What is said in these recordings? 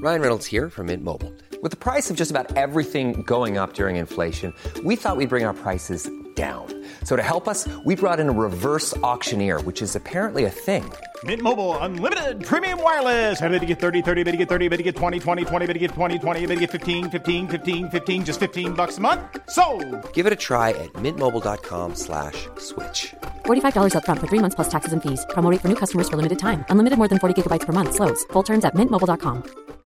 Ryan Reynolds here from Mint Mobile. With the price of just about everything going up during inflation, we thought we'd bring our prices down. So to help us, we brought in a reverse auctioneer, which is apparently a thing. Mint Mobile Unlimited Premium Wireless. How to get 30, 30, how to get 30, how to get 20, 20, 20, how to get 20, 20, how to get 15, 15, 15, 15, just $15 a month? Sold! Give it a try at mintmobile.com/switch. $45 up front for 3 months plus taxes and fees. Promo rate for new customers for limited time. Unlimited more than 40 gigabytes per month. Slows full terms at mintmobile.com.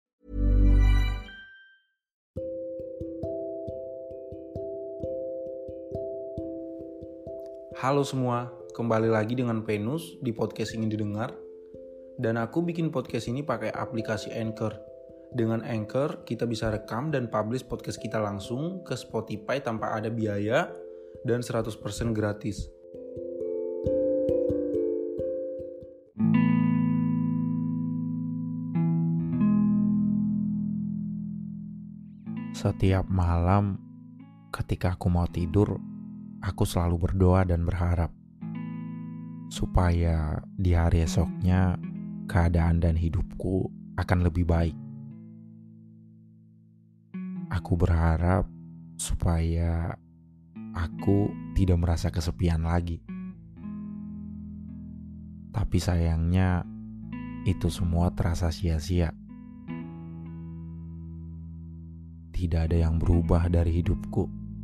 Halo semua, kembali lagi dengan Venus di podcast Ingin Didengar. Dan aku bikin podcast ini pakai aplikasi Anchor. Dengan Anchor, kita bisa rekam dan publish podcast kita langsung ke Spotify tanpa ada biaya dan 100% gratis. Setiap malam ketika aku mau tidur, aku selalu berdoa dan berharap supaya di hari esoknya keadaan dan hidupku akan lebih baik. Aku berharap supaya aku tidak merasa kesepian lagi. Tapi sayangnya itu semua terasa sia-sia. Tidak ada yang berubah dari hidupku.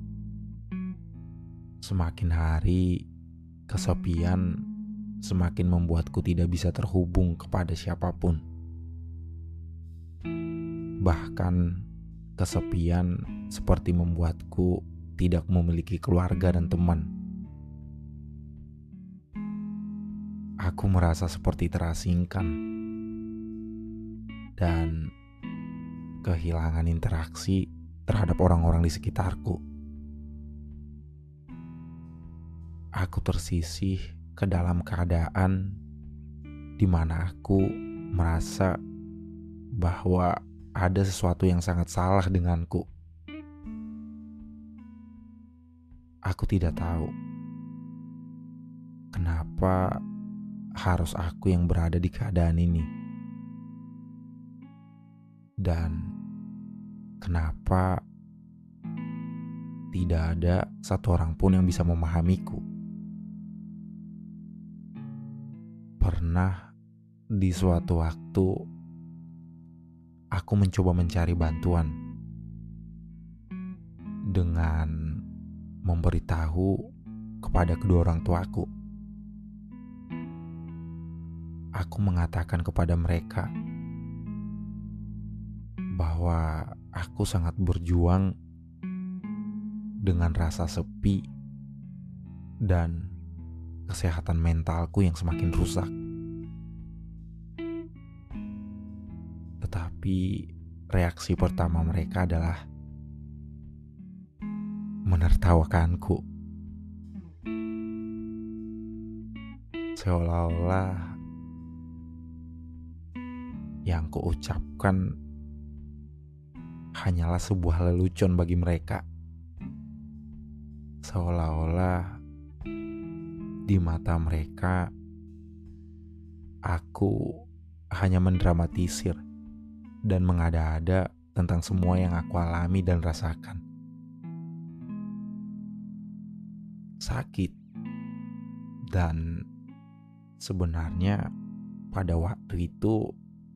Semakin hari, kesepian semakin membuatku tidak bisa terhubung kepada siapapun. Bahkan, kesepian seperti membuatku tidak memiliki keluarga dan teman. Aku merasa seperti terasingkan dan kehilangan interaksi terhadap orang-orang di sekitarku. Aku tersisih ke dalam keadaan di mana aku merasa bahwa ada sesuatu yang sangat salah denganku. Aku tidak tahu kenapa harus aku yang berada di keadaan ini. Dan kenapa tidak ada satu orang pun yang bisa memahamiku. Pernah di suatu waktu aku mencoba mencari bantuan dengan memberitahu kepada kedua orang tuaku. Aku mengatakan kepada mereka bahwa aku sangat berjuang dengan rasa sepi dan kesehatan mentalku yang semakin rusak. Tetapi reaksi pertama mereka adalah menertawakanku. Seolah-olah yang kuucapkan hanyalah sebuah lelucon bagi mereka. Seolah-olah di mata mereka aku hanya mendramatisir dan mengada-ada tentang semua yang aku alami dan rasakan. Sakit. Dan sebenarnya pada waktu itu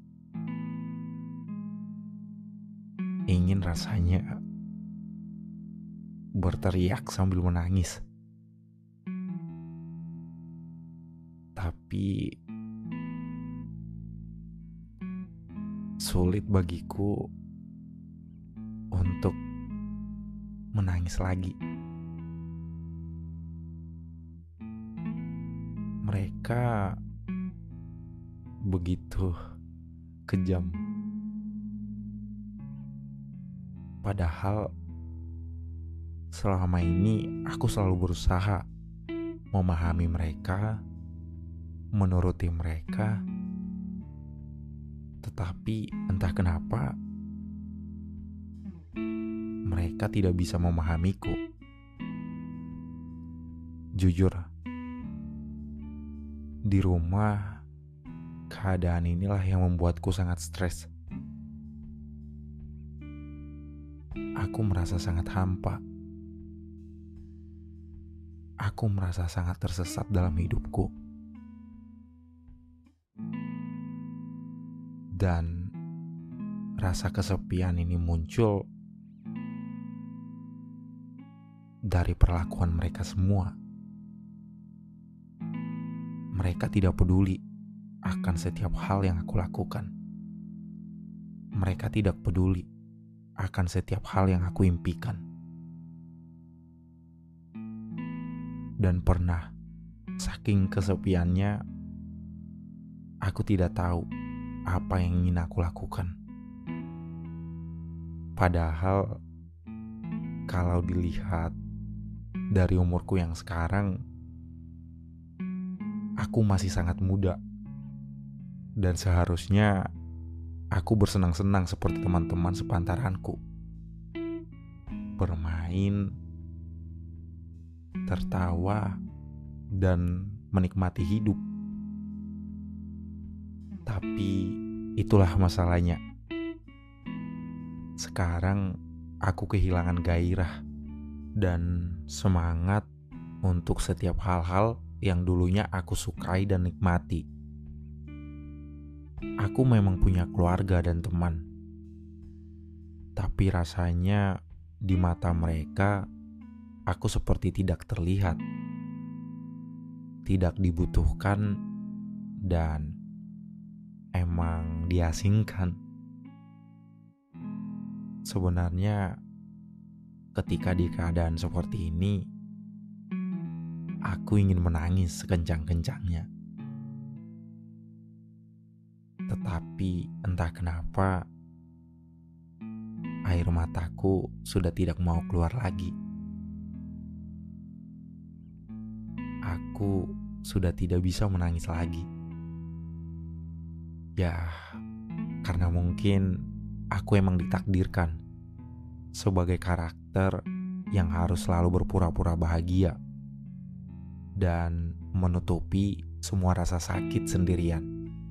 ingin rasanya berteriak sambil menangis. Tapi sulit bagiku untuk menangis lagi. Mereka begitu kejam. Padahal selama ini aku selalu berusaha memahami mereka, menuruti mereka. Tetapi entah kenapa mereka tidak bisa memahamiku. Jujur, di rumah keadaan inilah yang membuatku sangat stres. aku merasa sangat hampa. Aku merasa sangat tersesat dalam hidupku. Dan rasa kesepian ini muncul dari perlakuan mereka semua. Mereka tidak peduli akan setiap hal yang aku lakukan. Mereka tidak peduli akan setiap hal yang aku impikan. Dan pernah, saking kesepiannya, aku tidak tahu apa yang ingin aku lakukan. Padahal, kalau dilihat dari umurku yang sekarang, aku masih sangat muda. Dan seharusnya aku bersenang-senang seperti teman-teman sepantaranku. Bermain, tertawa, dan menikmati hidup. Tapi itulah masalahnya. Sekarang aku kehilangan gairah dan semangat untuk setiap hal-hal yang dulunya aku sukai dan nikmati. Aku memang punya keluarga dan teman. Tapi rasanya di mata mereka, aku seperti tidak terlihat, tidak dibutuhkan, dan emang diasingkan. Sebenarnya ketika di keadaan seperti ini, aku ingin menangis sekencang-kencangnya. Tetapi entah kenapa, air mataku sudah tidak mau keluar lagi. Aku sudah tidak bisa menangis lagi. Ya, karena mungkin aku emang ditakdirkan sebagai karakter yang harus selalu berpura-pura bahagia dan menutupi semua rasa sakit sendirian.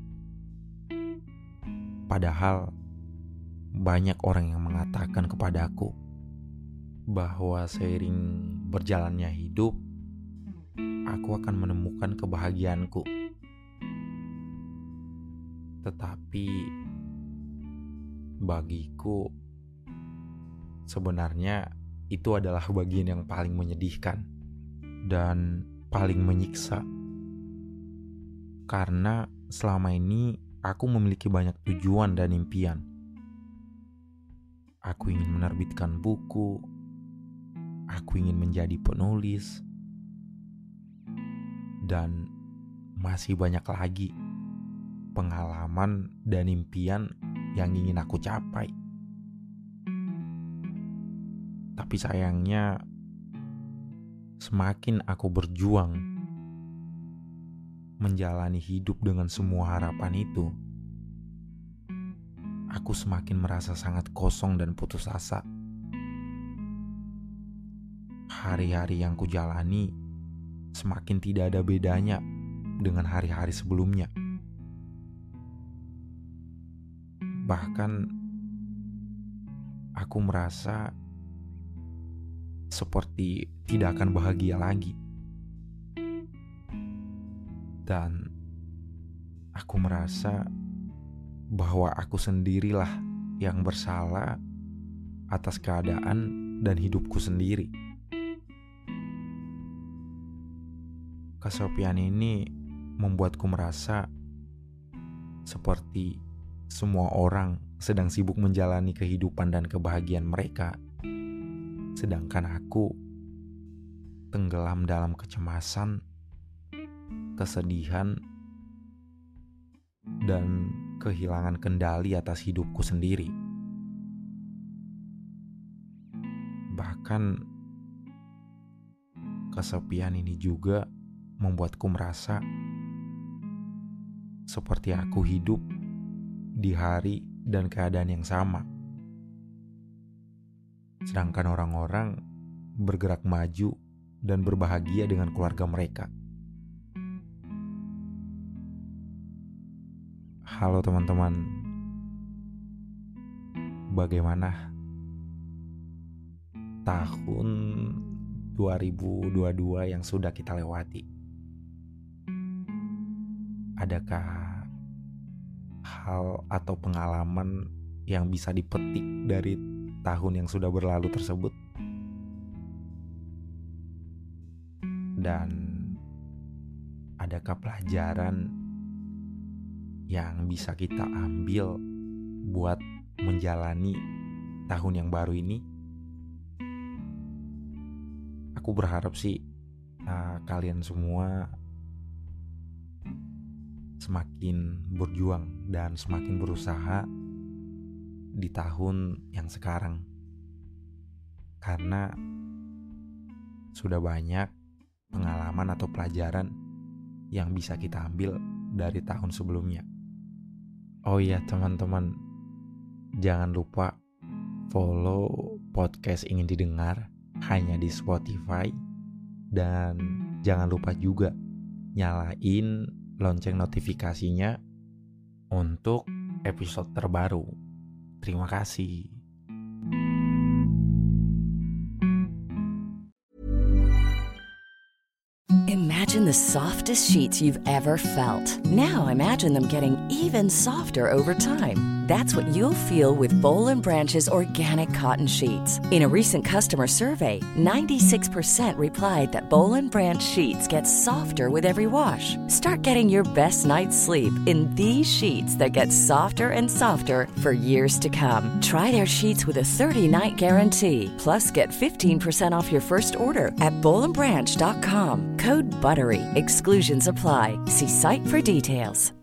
Padahal banyak orang yang mengatakan kepadaku bahwa seiring berjalannya hidup, aku akan menemukan kebahagiaanku. Tetapi bagiku, sebenarnya itu adalah bagian yang paling menyedihkan dan paling menyiksa. Karena selama ini aku memiliki banyak tujuan dan impian. Aku ingin menerbitkan buku, aku ingin menjadi penulis, dan masih banyak lagi pengalaman dan impian yang ingin aku capai. Tapi sayangnya, semakin aku berjuang menjalani hidup dengan semua harapan itu, aku semakin merasa sangat kosong dan putus asa. Hari-hari yang kujalani semakin tidak ada bedanya dengan hari-hari sebelumnya. Bahkan aku merasa seperti tidak akan bahagia lagi. Dan aku merasa bahwa aku sendirilah yang bersalah atas keadaan dan hidupku sendiri. Kesepian ini membuatku merasa seperti semua orang sedang sibuk menjalani kehidupan dan kebahagiaan mereka, sedangkan aku tenggelam dalam kecemasan, kesedihan, dan kehilangan kendali atas hidupku sendiri. Bahkan kesepian ini juga membuatku merasa seperti aku hidup di hari dan keadaan yang sama, sedangkan orang-orang bergerak maju dan berbahagia dengan keluarga mereka. Halo teman-teman, bagaimana tahun 2022 yang sudah kita lewati. Adakah hal atau pengalaman yang bisa dipetik dari tahun yang sudah berlalu tersebut? Dan adakah pelajaran yang bisa kita ambil buat menjalani tahun yang baru ini? Aku berharap sih kalian semua semakin berjuang dan semakin berusaha di tahun yang sekarang, karena sudah banyak pengalaman atau pelajaran yang bisa kita ambil dari tahun sebelumnya. Oh iya teman-teman, jangan lupa follow podcast Ingin Didengar hanya di Spotify, dan jangan lupa juga nyalain lonceng notifikasinya untuk episode terbaru. Terima kasih. Imagine the softest sheets you've ever felt. Now imagine them getting even softer over time. That's what you'll feel with Boll & Branch's organic cotton sheets. In a recent customer survey, 96% replied that Boll & Branch sheets get softer with every wash. Start getting your best night's sleep in these sheets that get softer and softer for years to come. Try their sheets with a 30-night guarantee. Plus, get 15% off your first order at bollandbranch.com. Code BUTTERY. Exclusions apply. See site for details.